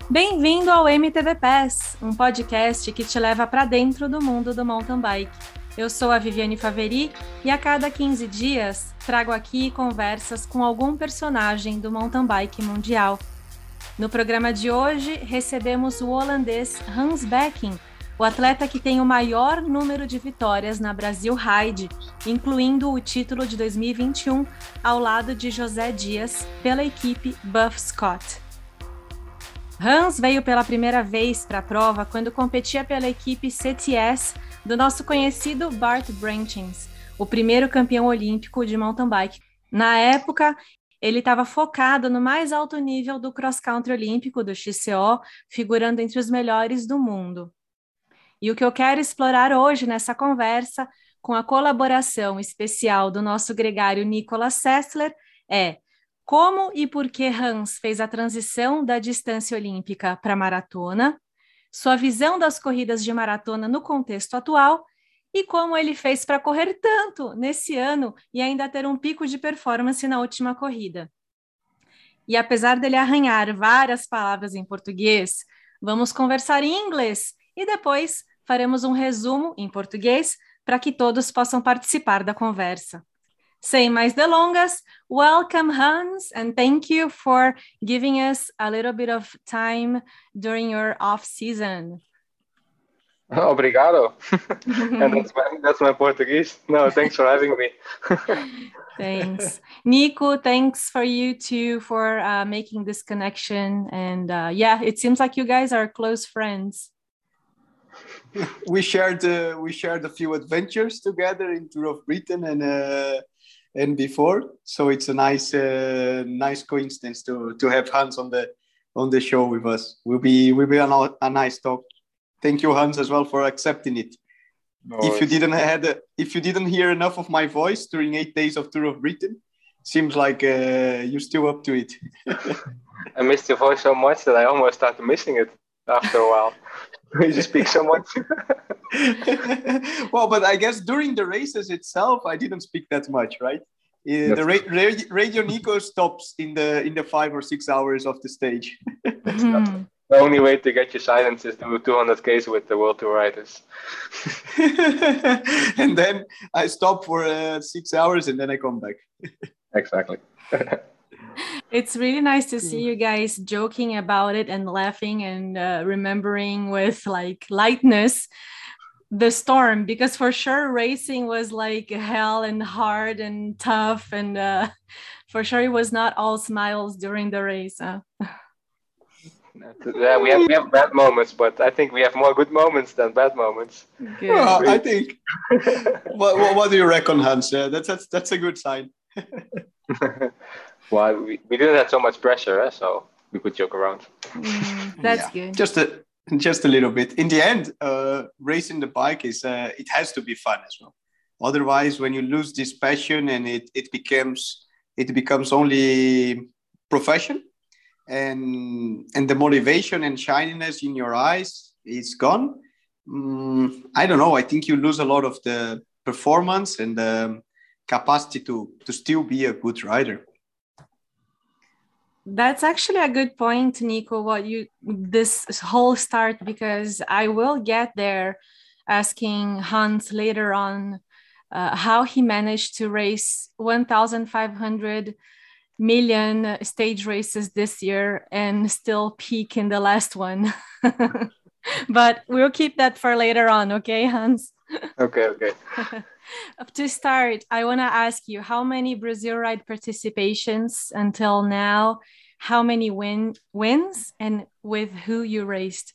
Bem-vindo ao MTB Pass, um podcast que te leva para dentro do mundo do mountain bike. Eu sou a Viviane Faveri e a cada 15 dias trago aqui conversas com algum personagem do mountain bike mundial. No programa de hoje, recebemos o holandês Hans Becking, o atleta que tem o maior número de vitórias na Brasil Ride, incluindo o título de 2021 ao lado de José Dias pela equipe Buff Scott. Hans veio pela primeira vez para a prova quando competia pela equipe CTS do nosso conhecido Bart Branchins, o primeiro campeão olímpico de mountain bike. Na época, ele estava focado no mais alto nível do cross-country olímpico do XCO, figurando entre os melhores do mundo. E o que eu quero explorar hoje nessa conversa, com a colaboração especial do nosso gregário Nicolas Sessler, é como e por que Hans fez a transição da distância olímpica para a maratona, sua visão das corridas de maratona no contexto atual e como ele fez para correr tanto nesse ano e ainda ter um pico de performance na última corrida. E apesar dele arranhar várias palavras em português, vamos conversar em inglês e depois faremos um resumo em português para que todos possam participar da conversa. Sem mais delongas, welcome Hans, and thank you for giving us a little bit of time during your off season. Obrigado. And that's my Portuguese. No, thanks for having me. Thanks. Nico, thanks for you too for making this connection. And it seems like you guys are close friends. We shared a few adventures together in Tour of Britain and before, so it's a nice coincidence to have Hans on the show with us. Will be a nice talk. Thank you, Hans, as well for accepting it. No, if you didn't hear enough of my voice during 8 days of Tour of Britain, seems like you're still up to it. I missed your voice so much that I almost started missing it after a while. You just speak so much. Well, but I guess during the races itself, I didn't speak that much, right? The Radio Nico stops in the 5 or 6 hours of the stage. The only way to get your silence is to do 200 Ks with the World Tour riders. And then I stop for 6 hours and then I come back. Exactly. It's really nice to see you guys joking about it and laughing and remembering with like lightness the storm, because for sure racing was like hell and hard and tough, and for sure it was not all smiles during the race. Yeah, we have bad moments, but I think we have more good moments than bad moments. Good. Well, I think. what do you reckon, Hans? That's a good sign. Well, we didn't have so much pressure, so we could joke around. That's good. Just a little bit. In the end, racing the bike it has to be fun as well. Otherwise, when you lose this passion and it becomes only profession, and the motivation and shininess in your eyes is gone. I don't know. I think you lose a lot of the performance and the capacity to still be a good rider. That's actually a good point, Nico, this whole start, because I will get there asking Hans later on how he managed to race 1,500 million stage races this year and still peak in the last one. But we'll keep that for later on, okay, Hans? Okay. To start, I want to ask you, how many Brazil Ride participations until now? How many wins, and with who you raced?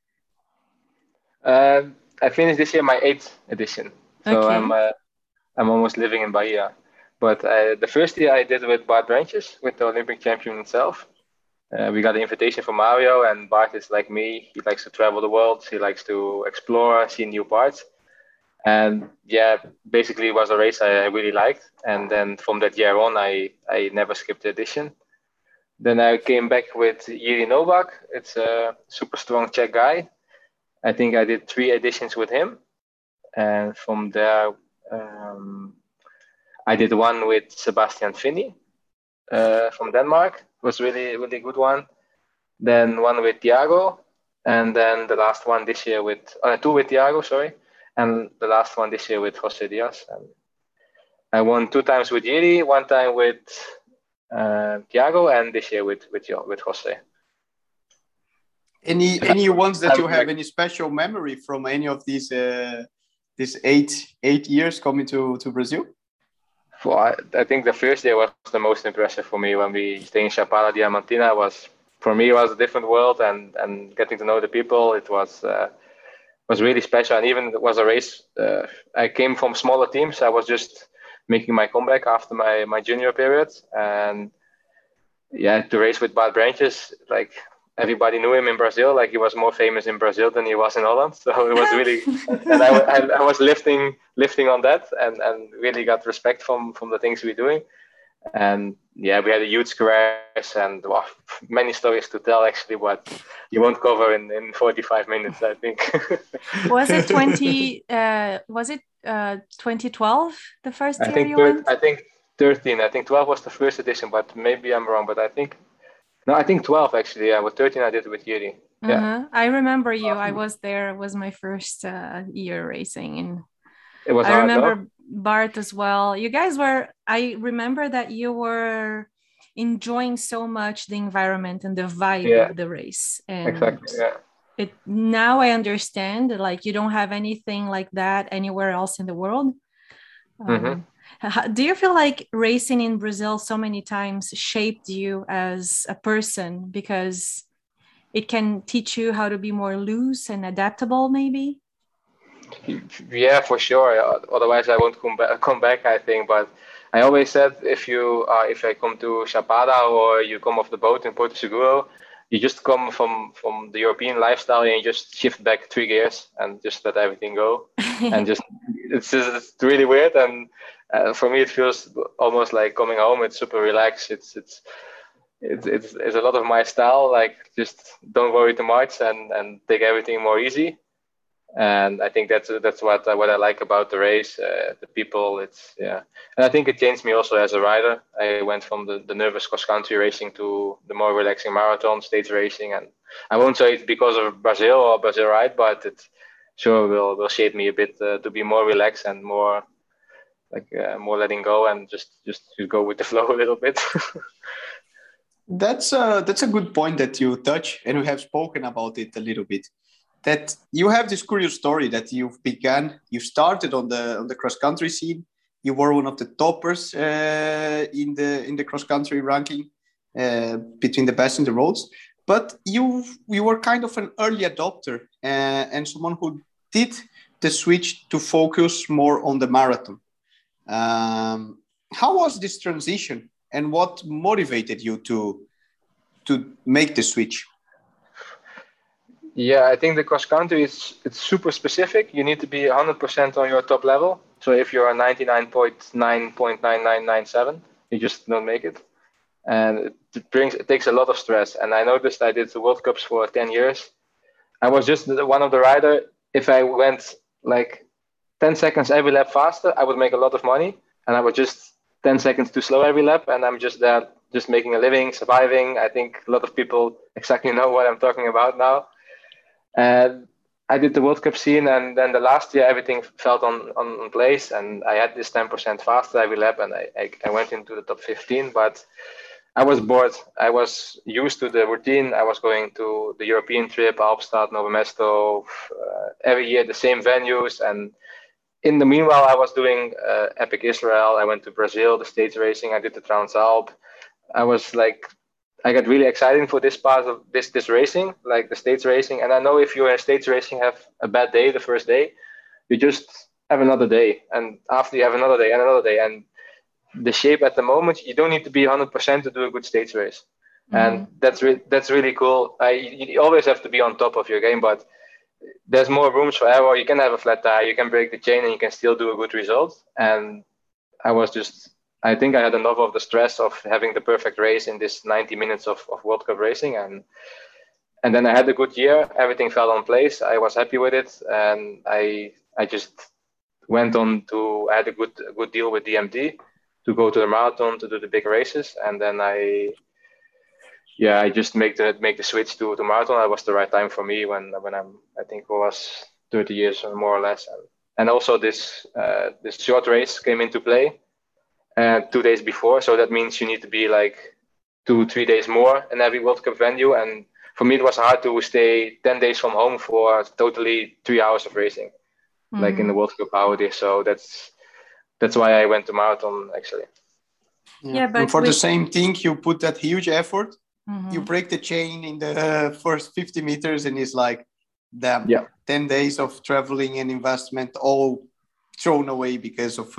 I finished this year my 8th edition, so okay. I'm almost living in Bahia. But the first year I did with Bart Branches, with the Olympic champion himself. We got an invitation from Mario, and Bart is like me. He likes to travel the world. He likes to explore, see new parts. And basically it was a race I really liked. And then from that year on, I never skipped the edition. Then I came back with Jiří Novák. It's a super strong Czech guy. I think I did 3 editions with him. And from there, I did one with Sebastian Finney from Denmark. It was really, really good one. then one with Thiago, and then the last one this year with two with Thiago, sorry, and the last one this year with Jose Diaz. And I won 2 times with Yeri, 1 time with Thiago, and this year with Jose. Any ones that you have any special memory from any of these this 8 years coming to Brazil? Well, I think the first year was the most impressive for me when we stayed in Chapada Diamantina. For me, it was a different world, and getting to know the people, it was really special. And even it was a race. I came from smaller teams. I was just making my comeback after my junior period, and yeah, to race with Bart Branches, like everybody knew him in Brazil. Like he was more famous in Brazil than he was in Holland. So it was really, and I was lifting on that, and really got respect from the things we're doing. And yeah, we had a huge crash, and many stories to tell actually, but you won't cover in 45 minutes, I think. Was it 2012 the first year you went? I think 13. I think 12 was the first edition, but maybe I'm wrong. But I think 12 actually. Yeah, with 13 I did it with Yuri. Yeah, I remember you. I was there. It was my first year racing, and it was. I remember Bart as well. You guys were. I remember that you were enjoying so much the environment and the vibe of the race. And exactly. Yeah. Now I understand. Like you don't have anything like that anywhere else in the world. Do you feel like racing in Brazil so many times shaped you as a person because it can teach you how to be more loose and adaptable, maybe? Yeah, for sure. Otherwise, I won't come back. I think. But I always said, if I come to Chapada or you come off the boat in Porto Seguro, you just come from the European lifestyle and you just shift back 3 gears and just let everything go. And it's really weird. And for me, it feels almost like coming home. It's super relaxed. It's a lot of my style. Like just don't worry too much and take everything more easy. And I think that's what I like about the race, the people. And I think it changed me also as a rider. I went from the nervous cross country racing to the more relaxing marathon stage racing, and I won't say it's because of Brazil or Brazil Ride, but it sure will shape me a bit to be more relaxed and more more letting go and just go with the flow a little bit. That's a good point that you touch, and we have spoken about it a little bit. That you have this curious story that you started on the cross country scene. You were one of the toppers in the cross country ranking between the best in the roads, but you were kind of an early adopter and someone who did the switch to focus more on the marathon. How was this transition, and what motivated you to make the switch? Yeah, I think the cross country it's super specific. You need to be 100% on your top level. So if you're 99.9.9997, you just don't make it. And it takes a lot of stress. And I noticed I did the World Cups for 10 years. I was just one of the rider. If I went like 10 seconds every lap faster, I would make a lot of money. And I was just 10 seconds too slow every lap. And I'm just there, just making a living, surviving. I think a lot of people exactly know what I'm talking about now. And I did the World Cup scene, and then the last year everything felt on place, and I had this 10% faster every lap, and I went into the top 15. But I was bored. I was used to the routine. I was going to the European trip, Alpstad, Novo Mesto, every year the same venues. And in the meanwhile, I was doing Epic Israel. I went to Brazil, the States racing. I did the Transalp. I got really excited for this part of this racing, like the States racing. And I know if you're in States racing, have a bad day the first day, you just have another day. And after you have another day and another day. And the shape at the moment, you don't need to be 100% to do a good States race. And that's really cool. You always have to be on top of your game, but there's more rooms for error. You can have a flat tire, you can break the chain, and you can still do a good result. And I think I had enough of the stress of having the perfect race in this 90 minutes of World Cup racing. And then I had a good year. Everything fell in place. I was happy with it. And I just went on I had a good deal with DMD to go to the marathon, to do the big races. And then yeah, I just make the switch to marathon. It was the right time for me when I think I was 30 years or more or less, and also this short race came into play 2 days before. So that means you need to be like 2-3 days more in every World Cup venue, and for me it was hard to stay 10 days from home for totally 3 hours of racing, like in the World Cup holiday. So that's why I went to marathon actually. Yeah, but and for the same thing, you put that huge effort. You break the chain in the first 50 meters, and it's like, damn, 10 days of traveling and investment all thrown away because of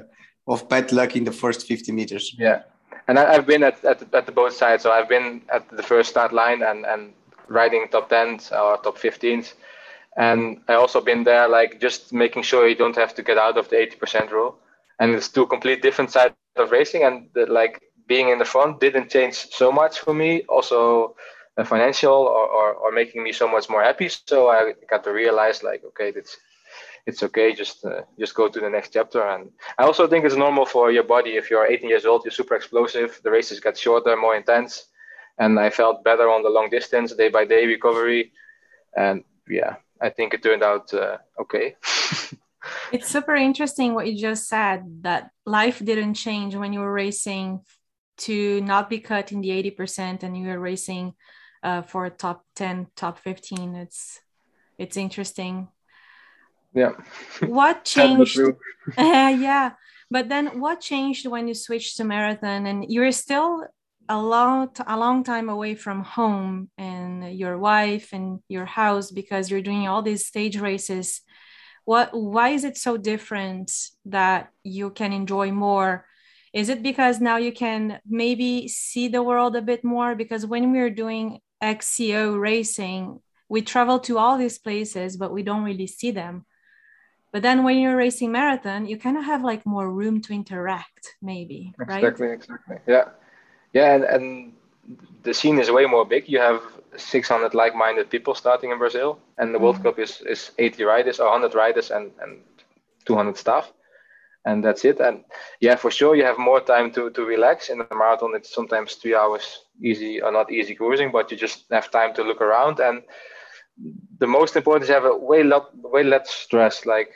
bad luck in the first 50 meters. Yeah, and I've been at the both sides. So I've been at the first start line and riding top 10s or top 15s, and I also been there like just making sure you don't have to get out of the 80% rule. And it's two complete different sides of racing, and like being in the front didn't change so much for me. Also, financial or making me so much more happy. So I got to realize like, okay, it's okay. Just go to the next chapter. And I also think it's normal for your body. If you're 18 years old, you're super explosive. The races get shorter, more intense, and I felt better on the long distance, day by day recovery. And yeah, I think it turned out okay. It's super interesting what you just said, that life didn't change when you were racing to not be cut in the 80% and you were racing for top 10, top 15. It's interesting. Yeah. What changed? Yeah. But then what changed when you switched to marathon and you're still a long time away from home and your wife and your house because you're doing all these stage races? Why is it so different that you can enjoy more? Is it because now you can maybe see the world a bit more? Because when we're doing XCO racing, we travel to all these places, but we don't really see them. But then when you're racing marathon, you kind of have like more room to interact, maybe, right? Exactly. Yeah, and the scene is way more big. You have 600 like-minded people starting in Brazil, and the World Cup is 80 riders or 100 riders and 200 staff, and that's it. And yeah, for sure you have more time to relax. In the marathon it's sometimes 3 hours easy or not easy cruising, but you just have time to look around. And the most important is have a way less stress. Like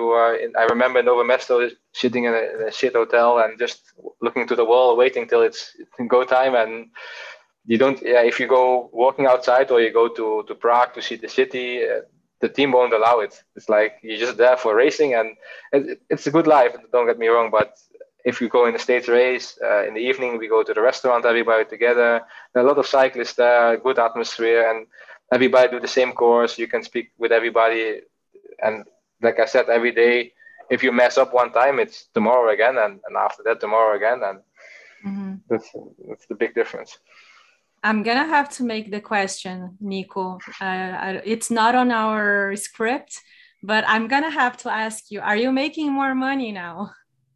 I remember in Nova Mesto sitting in a shit hotel and just looking to the wall, waiting till it's go time. And you don't, if you go walking outside or you go to Prague to see the city, the team won't allow it. It's like you're just there for racing, and it's a good life, don't get me wrong. But if you go in the States race, in the evening, we go to the restaurant, everybody together. There are a lot of cyclists there, good atmosphere, and everybody do the same course. You can speak with everybody. And like I said, every day, if you mess up one time, it's tomorrow again. And after that, tomorrow again. And that's the big difference. I'm going to have to make the question, Nico. It's not on our script, but I'm going to have to ask you, are you making more money now?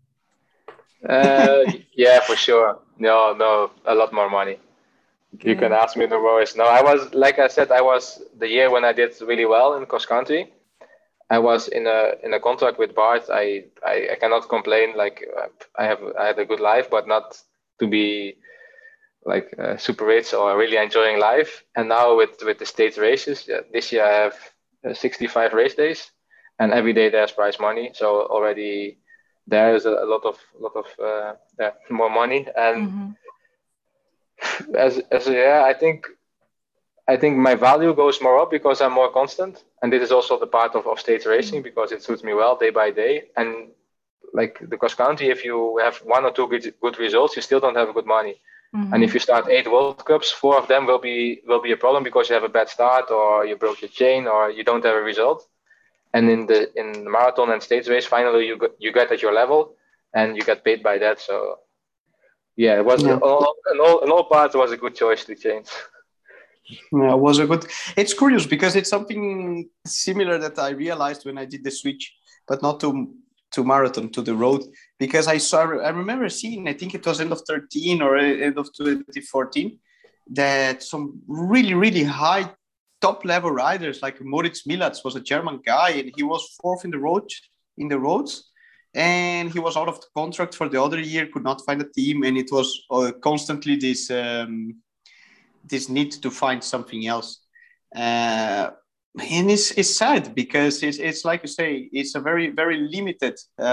Yeah, for sure. No, a lot more money. Okay. You can ask me the worst. No, I was, like I said, I was the year when I did really well in cross country. I was in a contract with Bart. I cannot complain. Like I had a good life, but not to be like super rich or really enjoying life. And now with the States races, this year I have 65 race days, and every day there's prize money. So already there is a lot of more money. And I think my value goes more up because I'm more constant, and this is also the part of States racing because it suits me well day by day. And like the cross country, if you have 1 or 2 good results, you still don't have good money. And if you start 8 World Cups, 4 of them will be a problem because you have a bad start or you broke your chain or you don't have a result. And in the marathon and States race, finally you get at your level and you get paid by that. So yeah, it was in all parts was a good choice to change. Yeah, it was a good. It's curious because it's something similar that I realized when I did the switch, but not to marathon, to the road, because I remember seeing, I think it was end of 13 or end of 2014, that some really, really high top level riders like Moritz Milatz was a German guy, and he was 4th in the roads, and he was out of the contract for the other year, could not find a team, and it was constantly this need to find something else. And it's sad because it's like you say, it's a very, very limited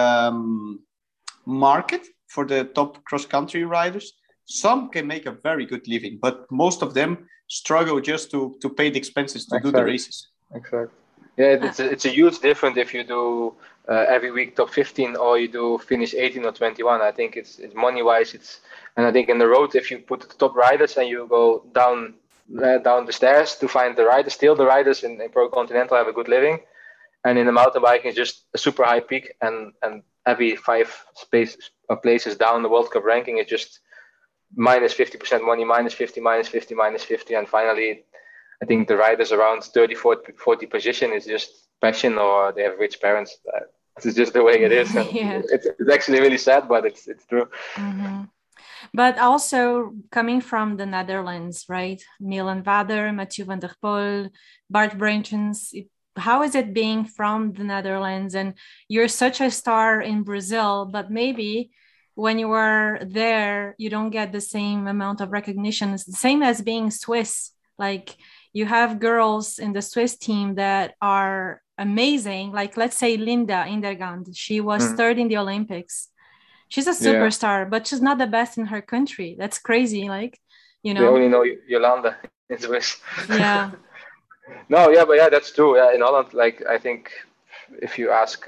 market for the top cross-country riders. Some can make a very good living, but most of them struggle just to pay the expenses to do the races. Exactly. Yeah, it's a huge difference if you do every week top 15 or you do finish 18 or 21. I think it's money-wise, and I think in the road, if you put the top riders and you go down the stairs to find the riders, still the riders in Pro Continental have a good living, and in the mountain biking it's just a super high peak, and every 5 places down the World Cup ranking is just minus 50% money, minus 50, minus 50, minus 50, and finally I think the riders around 30, 40 position is just passion, or they have rich parents. It's just the way it is. And yeah. It's actually really sad, but it's true. Mm-hmm. But also coming from the Netherlands, right? Milan Vader, Mathieu van der Poel, Bart Brentjens. How is it being from the Netherlands? And you're such a star in Brazil, but maybe when you are there, you don't get the same amount of recognition. It's the same as being Swiss. Like you have girls in the Swiss team that are amazing. Like let's say Linda Indergand. She was third in the Olympics. She's a superstar, but she's not the best in her country. That's crazy. Like, you know. They only know Yolanda in Swiss. Yeah. No, yeah, but yeah, that's true. Yeah, in Holland, like I think if you ask,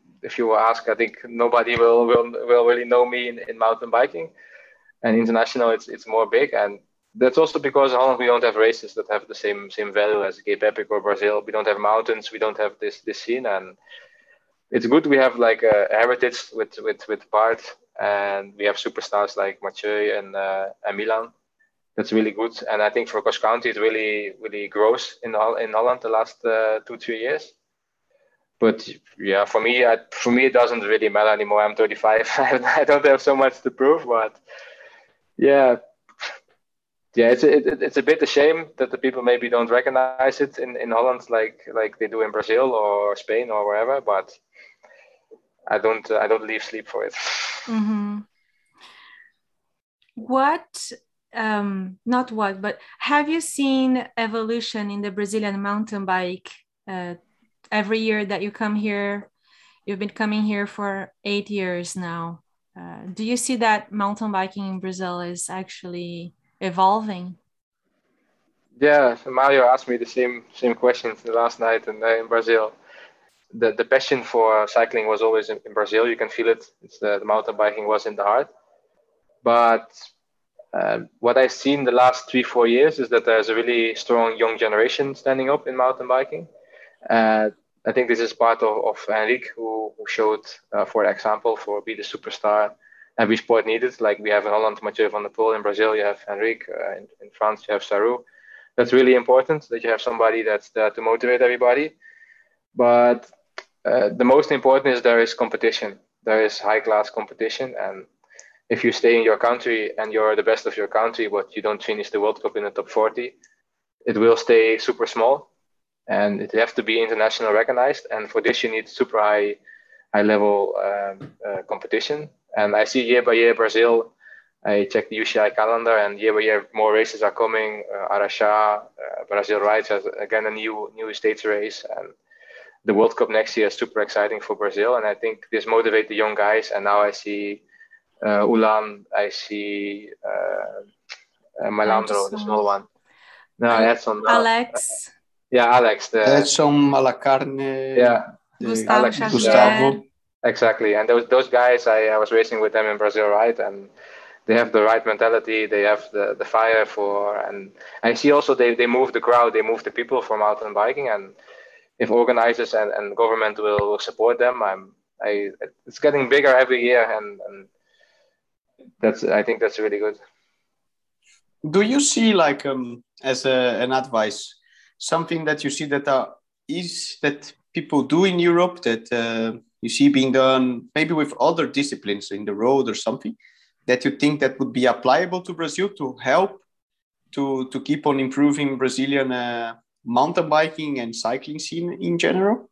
I think nobody will really know me in mountain biking. And international, it's more big, and that's also because in Holland we don't have races that have the same value as Cape Epic or Brazil. We don't have mountains. We don't have this scene, and it's good we have like a heritage with Bart, and we have superstars like Mathieu and Milan. That's really good, and I think for cross country it really grows in Holland the last 2-3 years. But yeah, for me it doesn't really matter anymore. I'm 35. I don't have so much to prove, but yeah, it's a bit a shame that the people maybe don't recognize it in Holland like they do in Brazil or Spain or wherever. But I don't leave sleep for it. Mm-hmm. But have you seen evolution in the Brazilian mountain bike every year that you come here? You've been coming here for 8 years now. Do you see that mountain biking in Brazil is actually evolving? Yeah, Mario asked me the same question last night in Brazil. The passion for cycling was always in Brazil. You can feel it. It's the mountain biking was in the heart. But what I've seen the last 3-4 years is that there's a really strong young generation standing up in mountain biking. I think this is part of Henrique, who showed, for example, for be the superstar every sport needed. Like we have in Holland, Mathieu van der Poel. In Brazil, you have Henrique. In France, you have Sarou. That's really important that you have somebody that's there to motivate everybody. But the most important is there is competition. There is high-class competition. And if you stay in your country and you're the best of your country, but you don't finish the World Cup in the top 40, it will stay super small. And it have to be international recognized, and for this you need super high level competition. And I see year by year Brazil. I check the UCI calendar, and year by year more races are coming. Araxá, Brazil Rides has again a new states race, and the World Cup next year is super exciting for Brazil. And I think this motivates the young guys. And now I see Ulan, I see Malandro, the small one. No, Alex. Yeah, Alex. Edson Malacarne. Yeah, Gustavo. Exactly, and those guys, I was racing with them in Brazil, right? And they have the right mentality. They have the fire for, and I see also they move the crowd, they move the people for mountain biking. And if organizers and government will support them, it's getting bigger every year, and I think that's really good. Do you see like as an advice? Something that you see that people do in Europe that you see being done maybe with other disciplines in the road or something that you think that would be applicable to Brazil to help to keep on improving Brazilian mountain biking and cycling scene in general?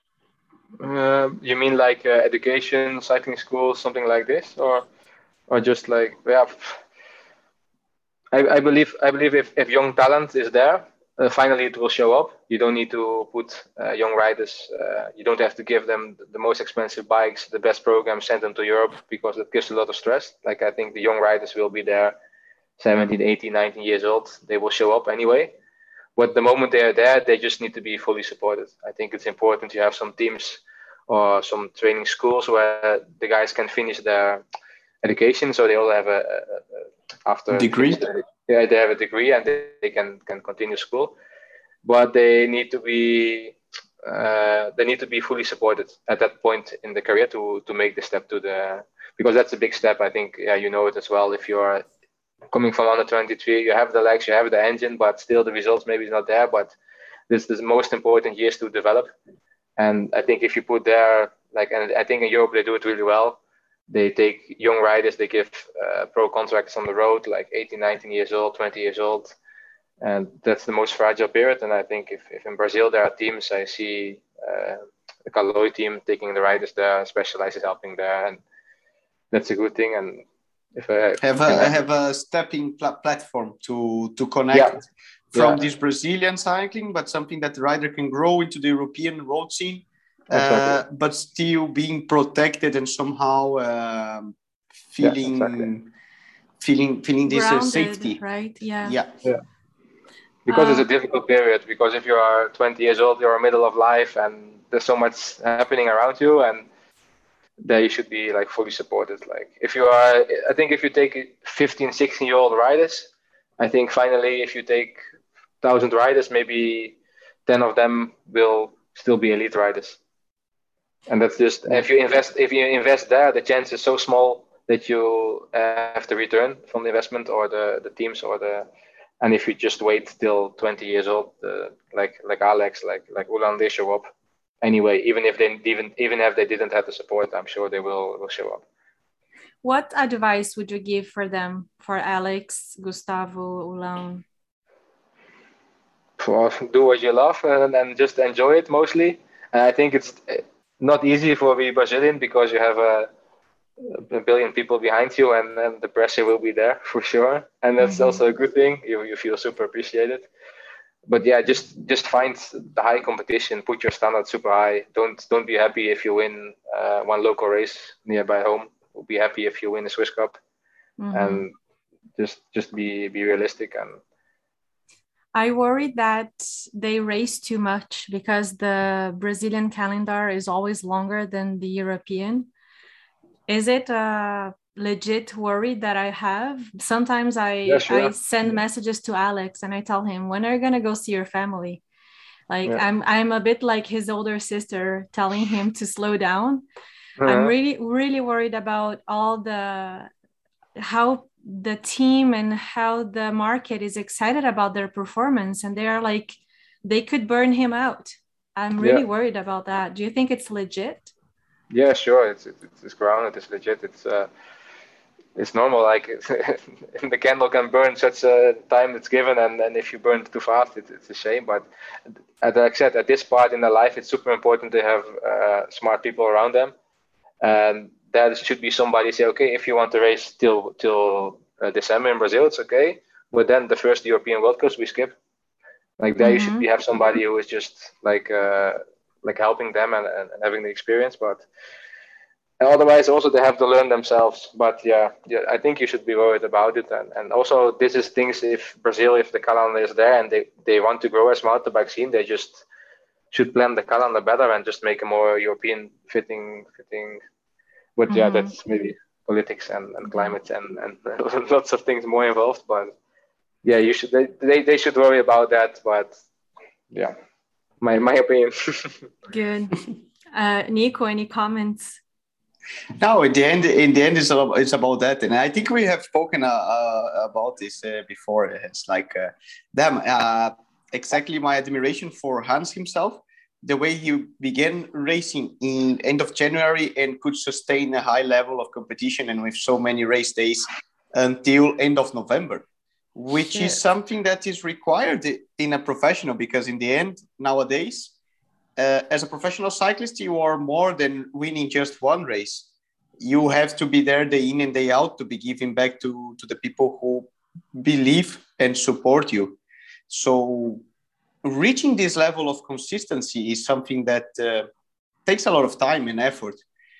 You mean like education, cycling schools, something like this, or just like I believe if young talent is there, finally it will show up. You don't need to put young riders. You don't have to give them the most expensive bikes, the best program, send them to Europe, because it gives a lot of stress. Like, I think the young riders will be there, 17, 18, 19 years old. They will show up anyway. But the moment they are there, they just need to be fully supported. I think it's important to have some teams or some training schools where the guys can finish their education, so they all have after degree. Yeah, they have a degree and they can continue school, but they need to be fully supported at that point in the career to make the step to the, because that's a big step. I think, yeah, you know it as well. If you're coming from under 23, you have the legs, you have the engine, but still the results maybe is not there. But this is the most important years to develop. And I think if you put there, like, and I think in Europe they do it really well. They take young riders, they give pro contracts on the road, like 18, 19 years old, 20 years old. And that's the most fragile period. And I think if in Brazil there are teams, I see the Caloi team taking the riders there, Specialized is helping there. And that's a good thing. And if I have a stepping platform to connect from this Brazilian cycling, but something that the rider can grow into the European road scene. Exactly. But still being protected and somehow feeling this grounded, safety, right? Yeah. Because it's a difficult period. Because if you are 20 years old, you're in the middle of life, and there's so much happening around you, and there you should be like fully supported. Like, if you are, I think if you take 15, 16-year-old riders, I think finally if you take 1,000 riders, maybe 10 of them will still be elite riders. And that's just, if you invest there, the chance is so small that you have the return from the investment, or the teams, or and if you just wait till 20 years old, like Alex, like Ulan, they show up anyway. Even if they didn't have the support, I'm sure they will show up. What advice would you give for them, for Alex, Gustavo, Ulan? Do what you love and just enjoy it mostly. And I think it's not easy for the Brazilian, because you have a billion people behind you, and then the pressure will be there for sure. And that's also a good thing. You feel super appreciated. But yeah, just find the high competition, put your standard super high. Don't be happy if you win one local race nearby home. Be happy if you win a Swiss Cup, and just be realistic. And I worry that they race too much, because the Brazilian calendar is always longer than the European. Is it a legit worry that I have? Sometimes I send messages to Alex and I tell him, when are you going to go see your family? Like, I'm a bit like his older sister, telling him to slow down. I'm really, really worried about how the team and how the market is excited about their performance, and they are like, they could burn him out. I'm really worried about that. Do you think it's legit? Yeah, sure. It's grounded. It's legit. It's normal. Like, the candle can burn such a time it's given, and if you burn it too fast, it's a shame. But as I said, at this part in their life, it's super important to have smart people around them, and that should be somebody say, okay, if you want to race till December in Brazil, it's okay. But then the first European World Cups we skip. Like, there you should have somebody who is just like helping them and having the experience. But otherwise, also they have to learn themselves. But yeah, I think you should be worried about it. And also, this is things, if the calendar is there and they want to grow as mountain bike scene, they just should plan the calendar better and just make a more European fitting. But yeah, that's maybe politics and climate and lots of things more involved. But yeah, they should worry about that. But yeah, my opinion. Good. Nico, any comments? No, in the end, it's about that, and I think we have spoken about this before. It's like exactly my admiration for Hans himself. The way he began racing in end of January and could sustain a high level of competition and with so many race days until end of November, which is something that is required in a professional, because in the end, nowadays, as a professional cyclist, you are more than winning just one race. You have to be there day in and day out to be giving back to the people who believe and support you. So reaching this level of consistency is something that takes a lot of time and effort.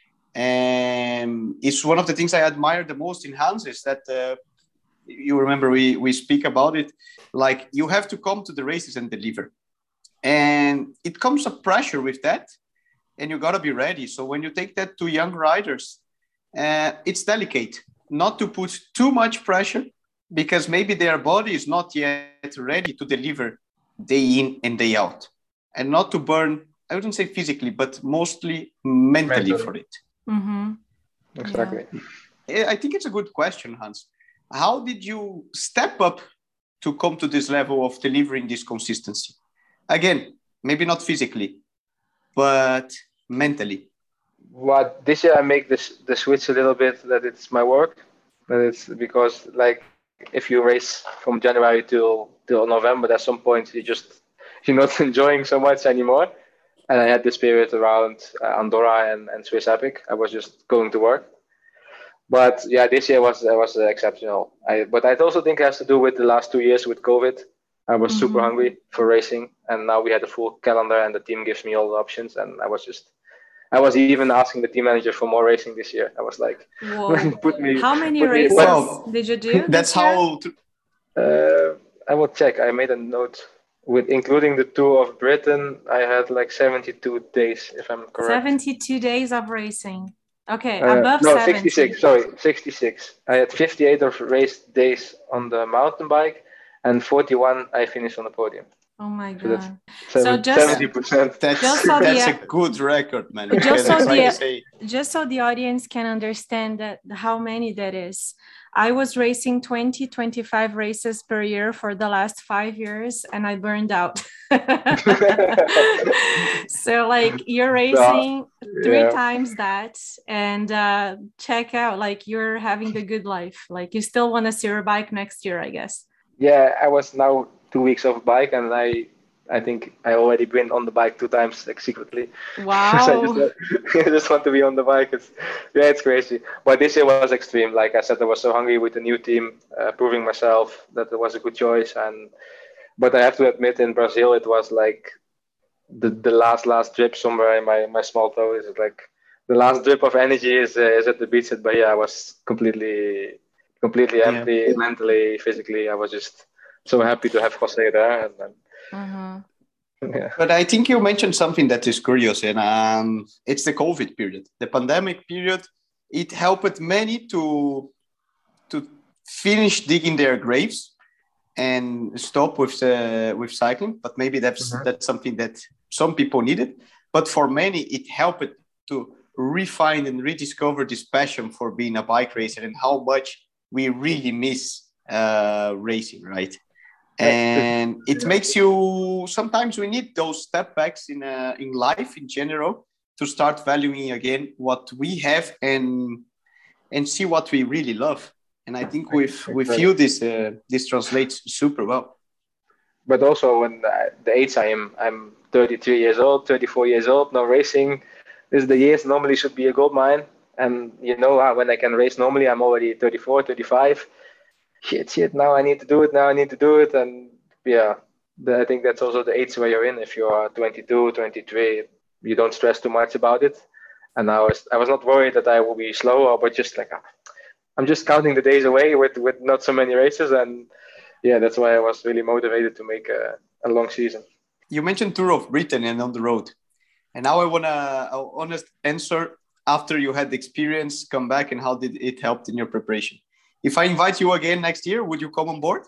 And it's one of the things I admire the most in Hans is that you remember we speak about it, like you have to come to the races and deliver. And it comes a pressure with that, and you got to be ready. So when you take that to young riders, it's delicate not to put too much pressure, because maybe their body is not yet ready to deliver day in and day out, and not to burn, I wouldn't say physically, but mostly mentally. For it. Mm-hmm. Exactly. Yeah. I think it's a good question, Hans. How did you step up to come to this level of delivering this consistency? Again, maybe not physically, but mentally. What this year I make the switch a little bit that it's my work, that it's because like if you race from January till November, at some point you're not enjoying so much anymore. And I had this period around Andorra and Swiss Epic. I was just going to work. But yeah, this year was exceptional. But I also think it has to do with the last 2 years with COVID. I was super hungry for racing, and now we had a full calendar, and the team gives me all the options. And I was even asking the team manager for more racing this year. I was like, how many races did you do? That's how. I will check. I made a note. With including the Tour of Britain, I had like 72 days, if I'm correct. 72 days of racing. Okay, above 70. 66. Sorry, 66. I had 58 of race days on the mountain bike, and 41 I finished on the podium. Oh my God! So just 70%. That's a good record, man. Just so the audience can understand that how many that is. I was racing 20-25 races per year for the last 5 years, and I burned out. So like you're racing 3 times that, and check out, like you're having the good life. Like you still want to see your bike next year, I guess. Yeah, I was now 2 weeks off bike, and I think I already been on the bike 2 times, like secretly. Wow. I just want to be on the bike. It's crazy. But this year was extreme. Like I said, I was so hungry with the new team, proving myself that it was a good choice. But I have to admit, in Brazil, it was like the last drip somewhere in my small toe. Is like the last drip of energy is at the beach at Bahia. I was completely empty, mentally, physically. I was just so happy to have Jose there. But I think you mentioned something that is curious, and it's the COVID period, the pandemic period. It helped many to finish digging their graves and stop with cycling. But maybe that's something that some people needed. But for many, it helped to refine and rediscover this passion for being a bike racer and how much we really miss racing, right? And it makes you, sometimes we need those step backs in life in general to start valuing again what we have and see what we really love. And I think with you, this translates super well. But also when the age I'm 33 years old, 34 years old, now racing, this is the years normally should be a gold mine. And you know, when I can race normally, I'm already 34, 35. Shit, now I need to do it. And yeah, I think that's also the age where you're in. If you are 22, 23, you don't stress too much about it. And I was not worried that I will be slow, but just like, I'm just counting the days away with not so many races. And yeah, that's why I was really motivated to make a long season. You mentioned Tour of Britain and on the road. And now I want an honest answer after you had the experience, come back, and how did it help in your preparation? If I invite you again next year, would you come on board?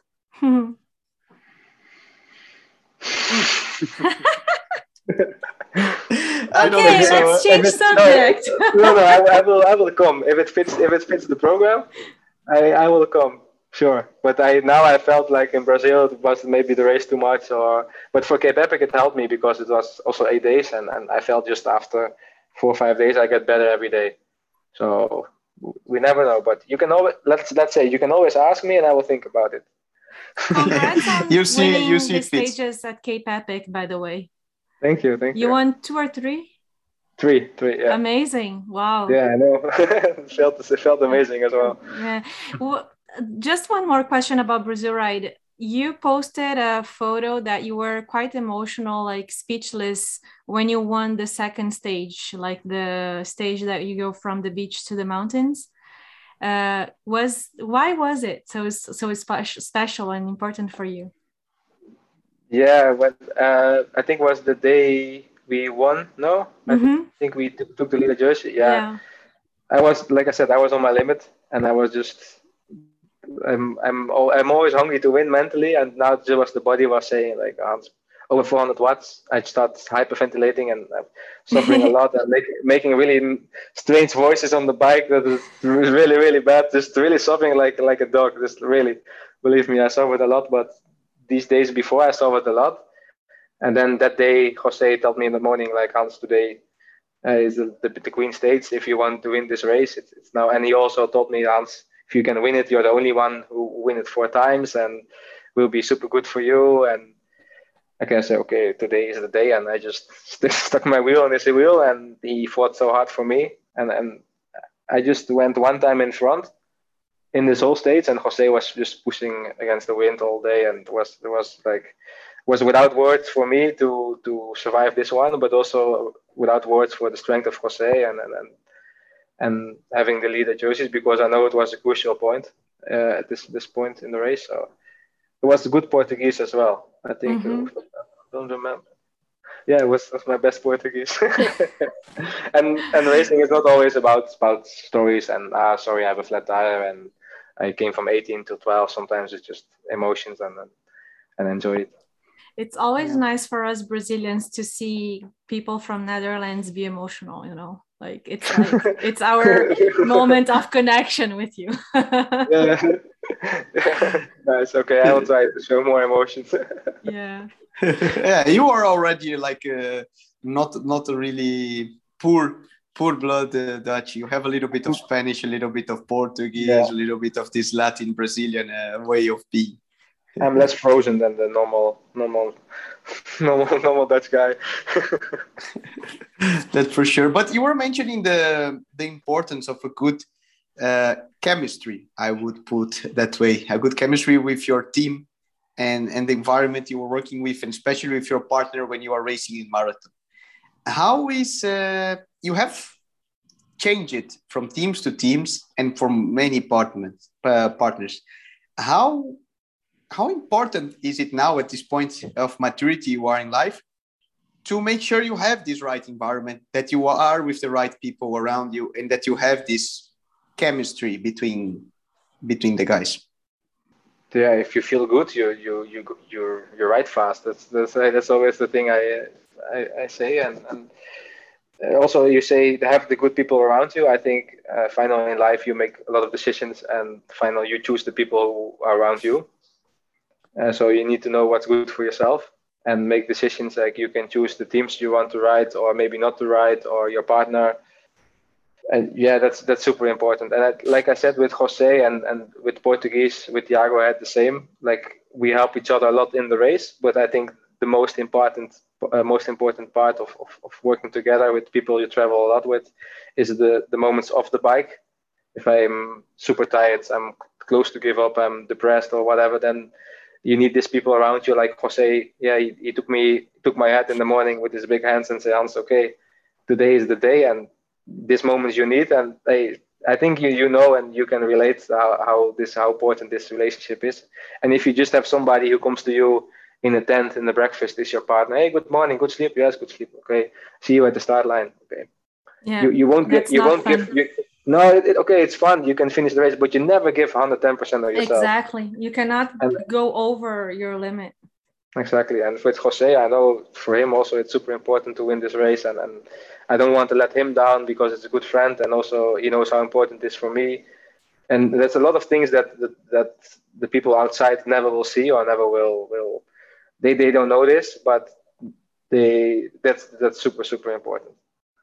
I don't think so. Let's change subject. No, I will come if it fits the program. I will come, sure. But I felt like in Brazil it was maybe the race too much, but for Cape Epic it helped me because it was also 8 days, and I felt just after 4 or 5 days I get better every day. So we never know, but you can always let's say you can always ask me, and I will think about it. Congrats on you see the stages at Cape Epic, by the way. Thank you. You won 2 or 3? 3, yeah. Amazing! Wow. Yeah, I know. It felt amazing as well. Yeah. Well, just one more question about Brazil Ride. You posted a photo that you were quite emotional, like speechless, when you won the second stage, like the stage that you go from the beach to the mountains. Why was it so special and important for you? Yeah, I think was the day we won. No, I think we took the leader jersey. Yeah. I was, like I said, I was on my limit, and I was just, I'm always hungry to win mentally, and now just the body was saying like, over 400 watts. I start hyperventilating and suffering a lot, and making really strange voices on the bike that is really, really bad. Just really suffering like a dog. Just really, believe me, I suffered a lot. But these days before, I suffered a lot. And then that day, Jose told me in the morning, like, Hans, today is the Queen States. If you want to win this race, it's now. And he also told me, Hans, if you can win it, you're the only one who win it 4 times, and will be super good for you. And I can say, okay, today is the day, and I just stuck my wheel on his wheel, and he fought so hard for me, and I just went one time in front in this whole stage, and Jose was just pushing against the wind all day, and was without words for me to survive this one, but also without words for the strength of Jose and having the leader jerseys, because I know it was a crucial point at this point in the race. So it was good Portuguese as well. I think I don't remember. Yeah, it was my best Portuguese. and racing is not always about stories and sorry, I have a flat tire and I came from 18 to 12. Sometimes it's just emotions and enjoy it. It's always nice for us Brazilians to see people from Netherlands be emotional, you know, like it's our moment of connection with you. Yeah. Nice. Okay, I will try to show more emotions. Yeah. Yeah, you are already like not a really poor blood Dutch. You have a little bit of Spanish, a little bit of Portuguese, a little bit of this Latin Brazilian way of being. I'm less frozen than the normal Dutch guy. That's for sure. But you were mentioning the importance of a good chemistry, I would put that way, a good chemistry with your team and the environment you were working with, and especially with your partner when you are racing in marathon. How is you have changed it from teams to teams and from many partners. How important is it now at this point of maturity you are in life to make sure you have this right environment, that you are with the right people around you, and that you have this chemistry between the guys? Yeah, if you feel good, you ride fast. That's always the thing I say, and also you say to have the good people around you. I think finally in life you make a lot of decisions, and finally you choose the people who are around you. So you need to know what's good for yourself and make decisions, like you can choose the teams you want to ride or maybe not to ride, or your partner. And yeah, that's super important. And like I said, with Jose and with Portuguese, with Thiago, I had the same. Like we help each other a lot in the race, but I think the most important part of working together with people you travel a lot with is the moments off the bike. If I'm super tired, I'm close to give up, I'm depressed or whatever, then you need these people around you, like Jose. Yeah, he took my hat in the morning with his big hands and said, Hans, okay, today is the day, and this moment you need. And I think you know, and you can relate how important this relationship is. And if you just have somebody who comes to you in a tent in the breakfast, is your partner. Hey, good morning, good sleep. Yes, good sleep. Okay, see you at the start line. Okay. Yeah. You won't give. No, okay, it's fun. You can finish the race, but you never give 110% of yourself. Exactly. You cannot go over your limit. Exactly. And with Jose, I know for him also it's super important to win this race. And I don't want to let him down because it's a good friend. And also he knows how important it is for me. And there's a lot of things that the people outside never will see or never will. They don't know this, but that's super, super important.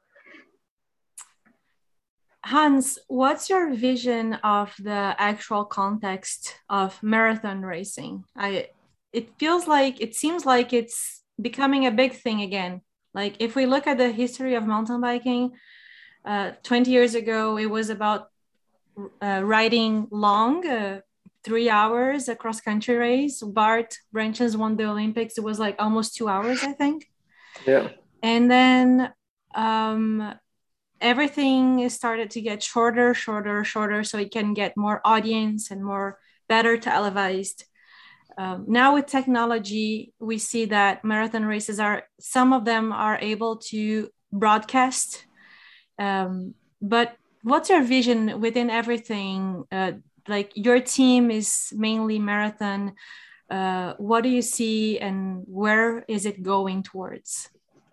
Hans, what's your vision of the actual context of marathon racing? It seems like it's becoming a big thing again. Like if we look at the history of mountain biking, 20 years ago, it was about riding long 3 hours, a cross-country race. Bart Branches won the Olympics. It was like almost 2 hours, I think. Yeah. And then everything started to get shorter, so it can get more audience and more better televised. Now with technology, we see that marathon races some of them are able to broadcast. But what's your vision within everything? Like your team is mainly marathon. What do you see and where is it going towards?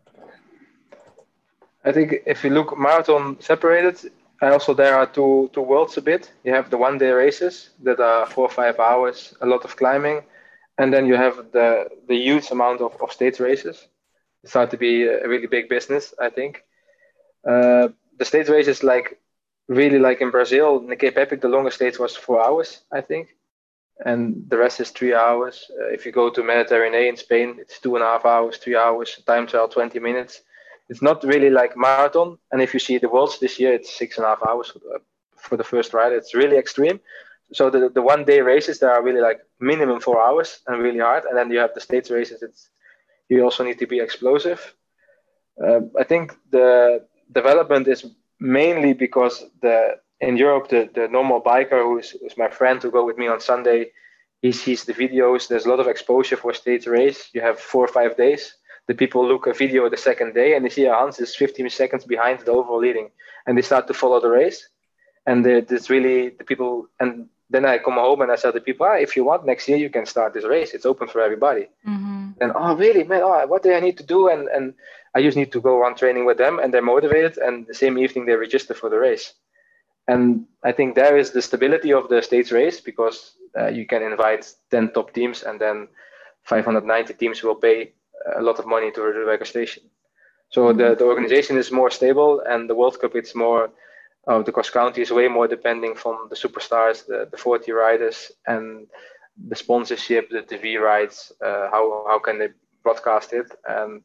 I think if you look marathon separated, also there are two worlds a bit. You have the 1-day races that are 4 or 5 hours, a lot of climbing, and then you have the huge amount of stage races. It started to be a really big business, I think. The stage races, like really like in Brazil, in the Cape Epic, the longest stage was 4 hours, I think, and the rest is 3 hours. If you go to Mediterranean in Spain, it's 2.5 hours, 3 hours, time trial 20 minutes. It's not really like marathon. And if you see the Worlds this year, it's 6.5 hours for the first ride. It's really extreme. So the 1-day races, there are really like minimum 4 hours and really hard. And then you have the stage races. You also need to be explosive. I think the development is mainly because in Europe, the normal biker who's my friend who go with me on Sunday, he sees the videos. There's a lot of exposure for stage race. You have 4 or 5 days. The people look a video the second day and they see Hans is 15 seconds behind the overall leading, and they start to follow the race. And it's really the people. And then I come home and I tell the people, if you want next year, you can start this race. It's open for everybody. Mm-hmm. And really, man, what do I need to do? And I just need to go on training with them, and they're motivated. And the same evening they register for the race. And I think there is the stability of the stage race, because you can invite 10 top teams, and then 590 teams will pay a lot of money to the registration. So the organization is more stable, and the World Cup, it's more, the cross country is way more depending from the superstars, the 40 riders, and the sponsorship, the TV rights, how can they broadcast it. And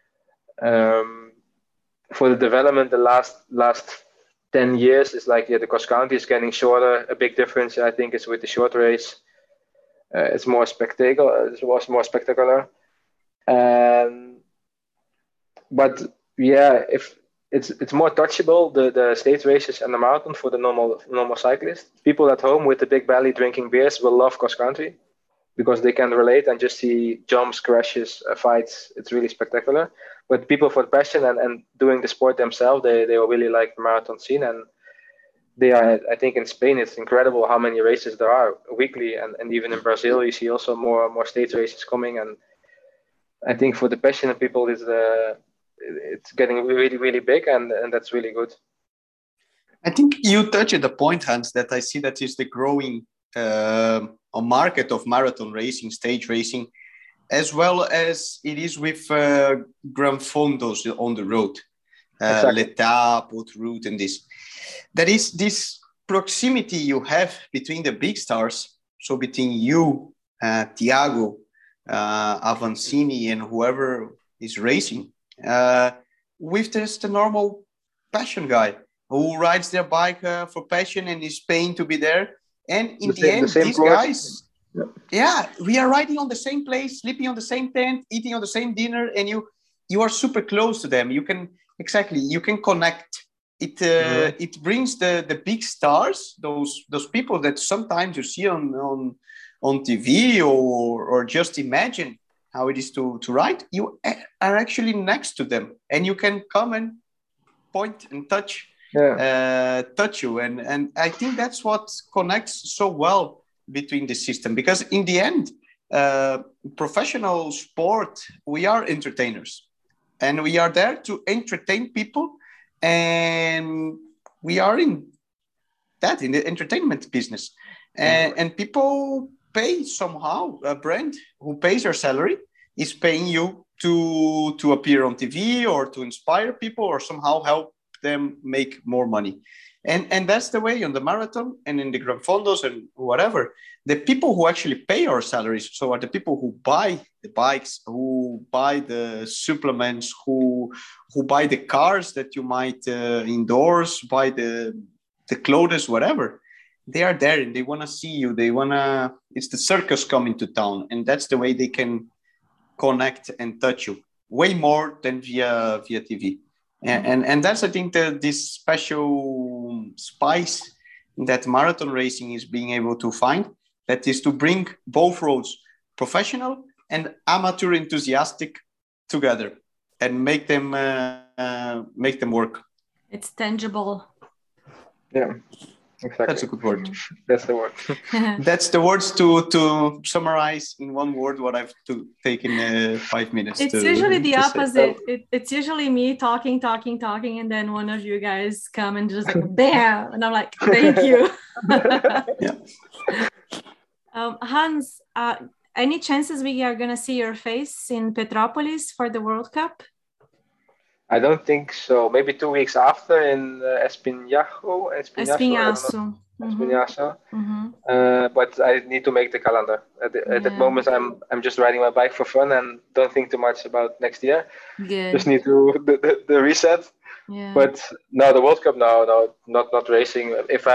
for the development, the last 10 years is like, the cross country is getting shorter. A big difference, I think, is with the short race. It's more spectacular. It was more spectacular. But yeah, if it's more touchable, the stage races and the marathon for the normal cyclist. People at home with the big belly drinking beers will love cross country because they can relate and just see jumps, crashes, fights. It's really spectacular. But people for passion and doing the sport themselves, they will really like the marathon scene. And they are, I think in Spain, it's incredible how many races there are weekly. And even in Brazil, you see also more stage races coming. And I think for the passionate people, it's getting really, really big, and that's really good. I think you touched the point, Hans, that I see that is the growing market of marathon racing, stage racing, as well as it is with Gran Fondos on the road, Exactly. L'Étape, Haute Route, and this. There is this proximity you have between the big stars, so between you, Thiago, Avancini, and whoever is racing, with just a normal passion guy who rides their bike for passion and is paying to be there. And in the end, these guys, we are riding on the same place, sleeping on the same tent, eating on the same dinner, and you are super close to them. You can connect. It brings the big stars, those people that sometimes you see on TV or just imagine how it is to ride. You are actually next to them, and you can come and point and touch you. And I think that's what connects so well between the system, because in the end, professional sport, we are entertainers, and we are there to entertain people, and we are in the entertainment business, and people pay somehow. A brand who pays your salary is paying you to appear on TV or to inspire people or somehow help them make more money. And that's the way on the marathon and in the Gran Fondos and whatever. The people who actually pay our salaries, so are the people who buy the bikes, who buy the supplements, who buy the cars that you might endorse, buy the clothes, whatever. they are there and they want to see you. It's the circus coming to town, and that's the way they can connect and touch you way more than via TV. And that's, I think, this special spice that marathon racing is being able to find, that is to bring both roads, professional and amateur enthusiastic, together and make them work. It's tangible. Yeah, exactly. That's a good word. That's the word. That's the words to summarize in one word what I've taken 5 minutes. It's usually the opposite. It's usually me talking, and then one of you guys come and just like, bam, and I'm like, thank you. Yeah. Hans, any chances we are going to see your face in Petropolis for the World Cup? I don't think so. Maybe 2 weeks after in Espinhaço. But I need to make the calendar. At that moment, I'm just riding my bike for fun and don't think too much about next year. Good. Just need to the reset. Yeah. But no, the World Cup, no, not racing.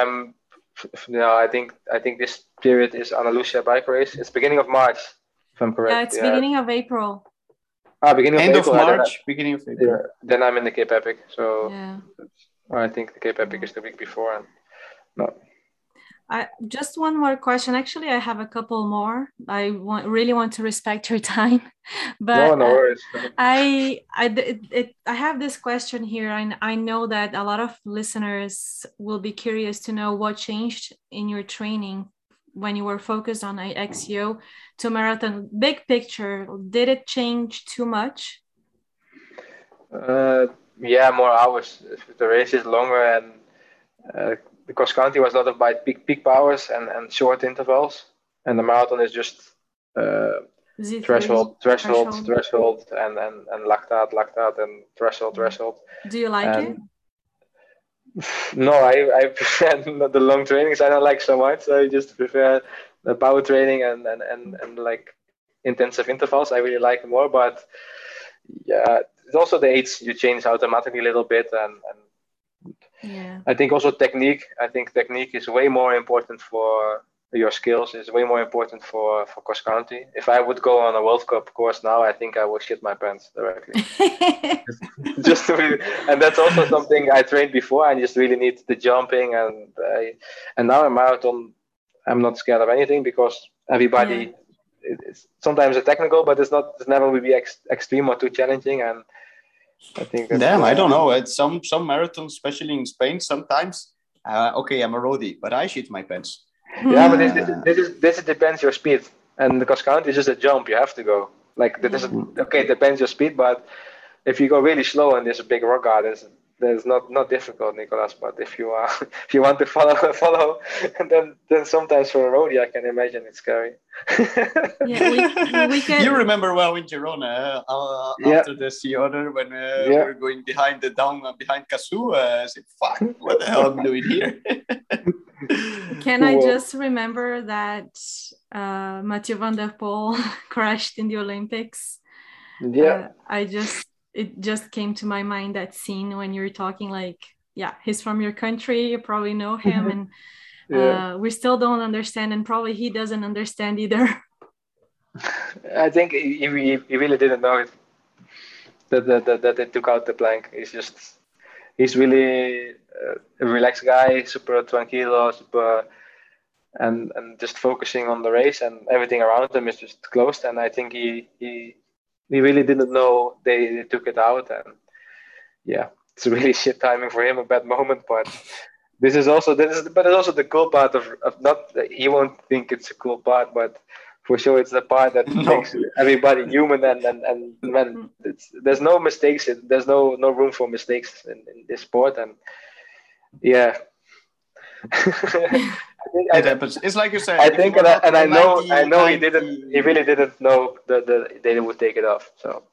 I think this period is Andalusia bike race. It's beginning of March, if I'm correct. Yeah, it's beginning of April. Beginning of End April, of March, beginning of April. Yeah, then I'm in the Cape Epic. So yeah. I think the Cape Epic is the week before. And no. Just one more question. Actually, I have a couple more. I really want to respect your time, but no worries. I have this question here, and I know that a lot of listeners will be curious to know what changed in your training when you were focused on XCO to marathon. Big picture, did it change too much? Yeah, more hours. The race is longer, and the cross country was a lot of by peak powers and short intervals, and the marathon is just threshold, and lactate, and threshold. Do you like it? No, I prefer the long trainings. I don't like so much. I just prefer the power training and like intensive intervals. I really like more, but yeah, it's also the age you change automatically a little bit, and yeah. I think also technique. I think technique is way more important for your skills. Is way more important for cross country. If I would go on a World Cup course now, I think I would shit my pants directly. Just to really, and that's also something I trained before. I just really need the jumping, and now in marathon, I'm not scared of anything because everybody. Yeah. It's sometimes a technical, but it's never will be extreme or too challenging, and I think that's, I don't know. At some marathons, especially in Spain, sometimes I'm a roadie, but I shit my pants. Yeah, but this depends your speed, and the cross country is just a jump. You have to go like that. It depends your speed, but if you go really slow and there's a big rock garden, there's not difficult, Nicolas. But if you want to follow, and then sometimes for a roadie, I can imagine it's scary. Yeah, we can. You remember well in Girona after the sea order when we were going behind behind Casu. I said, "Fuck, what the hell am I doing here?" Can I just remember that Mathieu van der Poel crashed in the Olympics? Yeah, it just came to my mind, that scene when you're talking like, yeah, he's from your country, you probably know him, and we still don't understand, and probably he doesn't understand either. I think he really didn't know it, that they took out the plank. He's really a relaxed guy, super tranquilo, and just focusing on the race, and everything around him is just closed, and I think he really didn't know they took it out, and yeah, it's really shit timing for him, a bad moment. But this is also the cool part of not that he won't think it's a cool part, but for sure it's the part that makes everybody human, and when there's no mistakes, there's no room for mistakes in this sport, and yeah. It happens. It's like you said. I think, and I know he really didn't know that they would take it off. So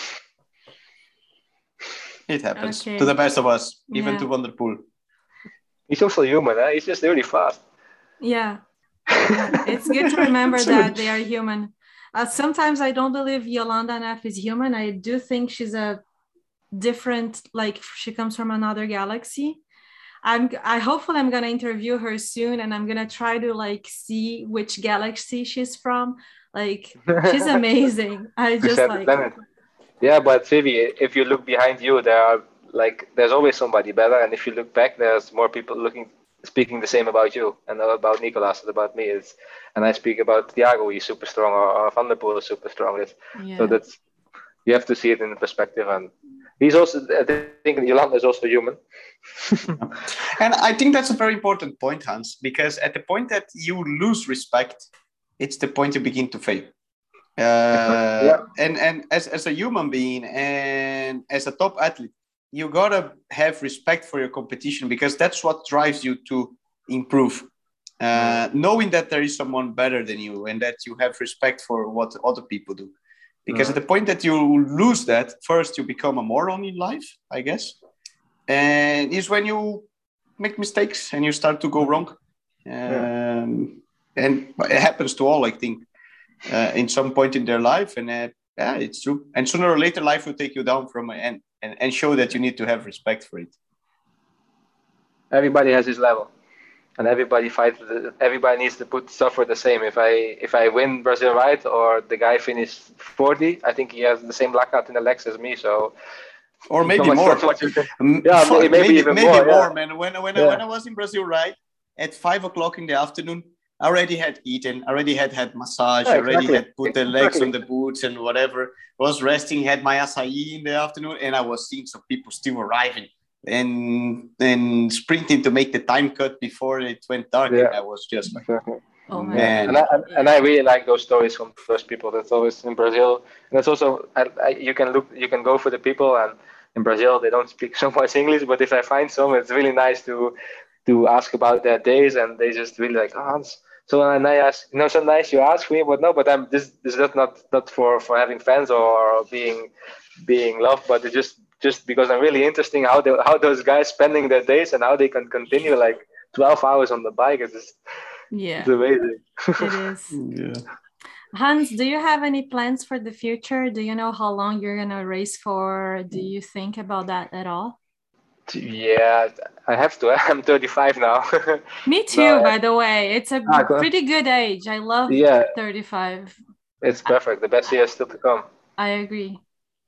it happens to the best of us, even to Van der Poel. He's also human. He's just really fast. Yeah, it's good to remember that they are human. Sometimes I don't believe Jolanda Neff is human. I do think she's a different, like she comes from another galaxy. hopefully I'm gonna interview her soon, and I'm gonna try to like see which galaxy she's from. Like, she's amazing. I just like. Yeah, but Vivi, if you look behind you, there's always somebody better, and if you look back, there's more people speaking the same about you, and about Nicolas, and about me. And I speak about Thiago, he's super strong, or Van der Poel is super strong. So you have to see it in perspective, and he's also, I think Jolanda is also human. And I think that's a very important point, Hans, because at the point that you lose respect, it's the point you begin to fail. And as a human being and as a top athlete, you gotta have respect for your competition, because that's what drives you to improve. Knowing that there is someone better than you and that you have respect for what other people do. Because at the point that you lose that, first you become a moron in life, I guess. And is when you make mistakes and you start to go wrong. And it happens to all, I think. In some point in their life, and it's true. And sooner or later, life will take you down from and show that you need to have respect for it. Everybody has his level, and everybody fights. Everybody needs to suffer the same. If I win Brazil right, or the guy finished 40, I think he has the same lockout in the legs as me. So, or maybe more. Maybe even more, man. When I was in Brazil right at 5:00 in the afternoon, I already had eaten, already had massage, already had put the legs on the boots and whatever. Was resting, had my acai in the afternoon, and I was seeing some people still arriving and sprinting to make the time cut before it went dark. And I was just like, oh man. And I really like those stories from those people. That's always in Brazil. And it's also, you can go for the people, and in Brazil they don't speak so much English, but if I find some, it's really nice to ask about their days, and they just really like, Hans. So when I ask, so nice you ask me, but no, but I'm this is not for having fans or being loved, but it's just because I'm really interesting how those guys spending their days and how they can continue like 12 hours on the bike. It's amazing. It is. Hans, do you have any plans for the future? Do you know how long you're gonna race for? Do you think about that at all? Yeah, I have to. I'm 35 now. Me too, by the way. It's a pretty good age. I love 35. It's perfect. The best year is still to come. I agree.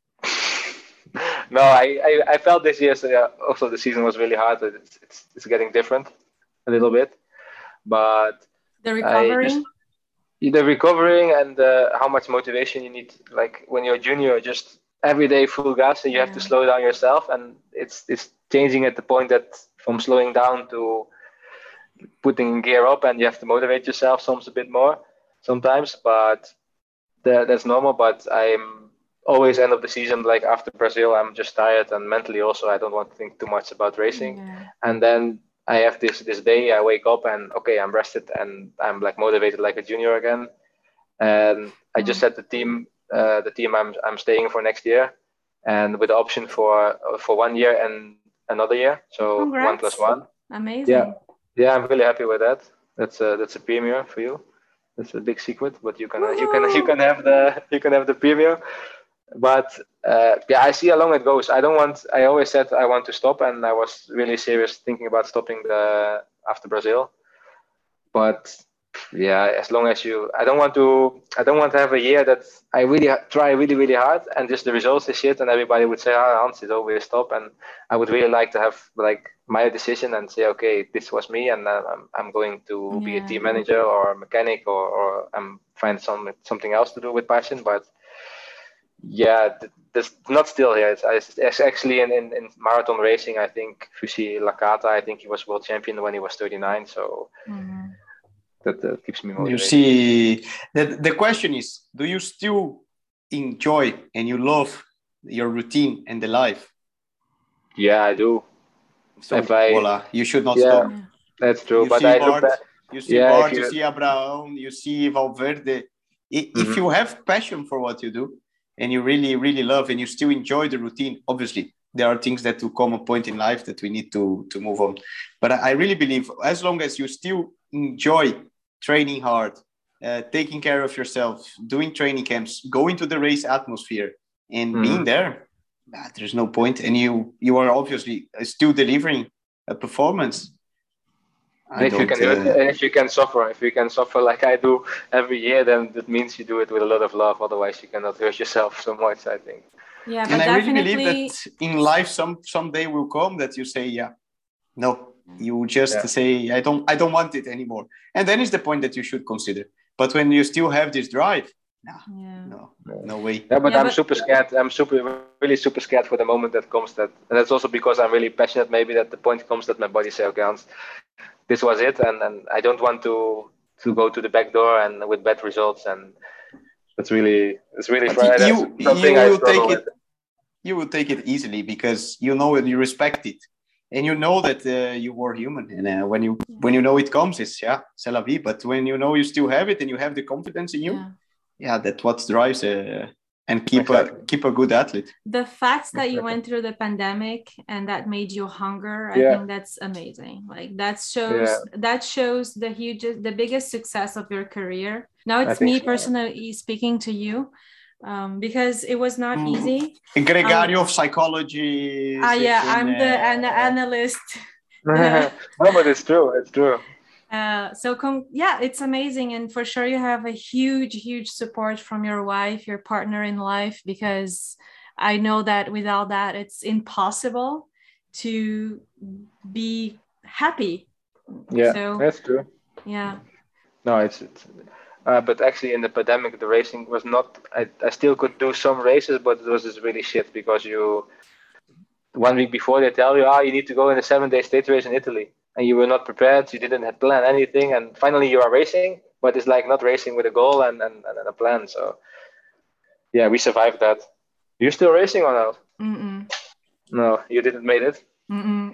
No, I felt this year, also the season was really hard. It's getting different a little bit. But the recovering? The recovering and how much motivation you need. Like when you're a junior, just every day full gas, and you have to slow down yourself, and it's changing at the point that from slowing down to putting gear up, and you have to motivate yourself a bit more sometimes, but that's normal. But I'm always end of the season, like after Brazil, I'm just tired, and mentally also I don't want to think too much about racing. And then I have this day I wake up and okay, I'm rested and I'm like motivated like a junior again. And I just said the team I'm staying for next year, and with the option for 1 year and another year, so Congrats. 1 + 1. Amazing. Yeah, I'm really happy with that. That's a premier for you. That's a big secret, but you can have the premier. But I see how long it goes. I always said I want to stop, and I was really serious thinking about stopping after Brazil. But as long as I don't want to have a year that I really try really, really hard and just the results is shit, and everybody would say, Hans is always stop. And I would really like to have like my decision and say, okay, this was me, and I'm going to be a team manager or a mechanic, or I'm find something else to do with passion. But that's not still here. It's actually in marathon racing. I think Fussi Lakata, I think he was world champion when he was 39. So that keeps me motivated. You see, the question is, do you still enjoy and you love your routine and the life? Yeah, I do. So voila, you should not stop. That's true. But I look back. You see Bart, you see Abraham, you see Valverde. If you have passion for what you do, and you really, really love, and you still enjoy the routine, obviously, there are things that will come a point in life that we need to move on. But I really believe as long as you still enjoy training hard, taking care of yourself, doing training camps, going to the race atmosphere and being there, there's no point. And you are obviously still delivering a performance. If you can suffer like I do every year, then that means you do it with a lot of love. Otherwise, you cannot hurt yourself so much, I think. Yeah, but and I really believe that in life, some day will come that you say, no, you just say, I don't want it anymore. And then is the point that you should consider. But when you still have this drive, no way. Yeah, but I'm super scared. I'm really super scared for the moment that comes. And that's also because I'm really passionate. Maybe that the point comes that my body says, okay, Hans, this was it, and I don't want to go to the back door and with bad results. And it's really frustrating. You will take it easily because you know and you respect it, and you know that you were human. And when you know it comes, it's c'est la vie. But when you know you still have it and you have the confidence in you, that's what drives and keep a good athlete. The fact that you went through the pandemic and that made you hunger, I think that's amazing. Like that shows the biggest success of your career. Now it's me personally speaking to you. Because it was not easy. Gregario of psychology. I'm the analyst. No, but it's true. It's true. It's amazing, and for sure you have a huge support from your wife, your partner in life, because I know that without that it's impossible to be happy. That's true. No, it's but actually in the pandemic the racing was not. I still could do some races, but it was just really shit because 1 week before they tell you you need to go in a 7-day stage race in Italy. And you were not prepared, you didn't have plan anything, and finally you are racing, but it's like not racing with a goal and a plan. So we survived that. You still racing or not? Mm-mm. No, you didn't make it. Mm-mm.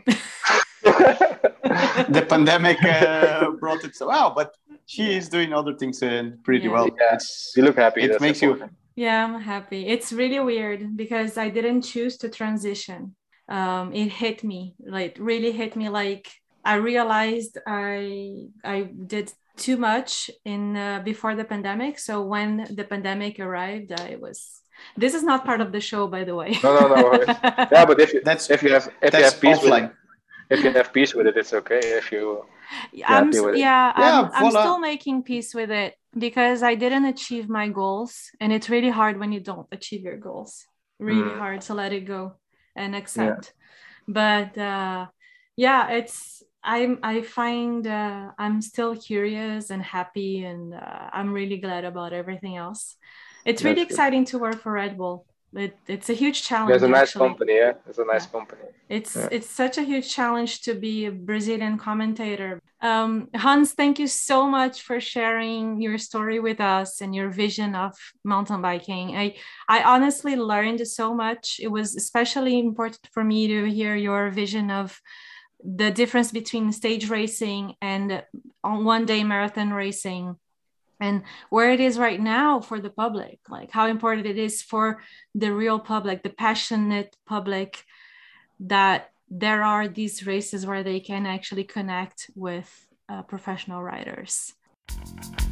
The pandemic brought it so well, but she is doing other things pretty well. You look happy. It makes you. Yeah, I'm happy. It's really weird because I didn't choose to transition. It hit me, like really hit me. Like I realized I did too much before the pandemic. So when the pandemic arrived, this is not part of the show, by the way. No. But if you have peace offline. If you have peace with it, it's okay. If you I'm still making peace with it because I didn't achieve my goals, and it's really hard when you don't achieve your goals. Really hard to let it go and accept. But I find I'm still curious and happy, and I'm really glad about everything else. It's really exciting to work for Red Bull. It's a huge challenge. It's a nice company, It's a nice company. It's such a huge challenge to be a Brazilian commentator. Hans, thank you so much for sharing your story with us and your vision of mountain biking. I honestly learned so much. It was especially important for me to hear your vision of the difference between stage racing and on one-day marathon racing, and where it is right now for the public, like how important it is for the real public, the passionate public, that there are these races where they can actually connect with professional riders.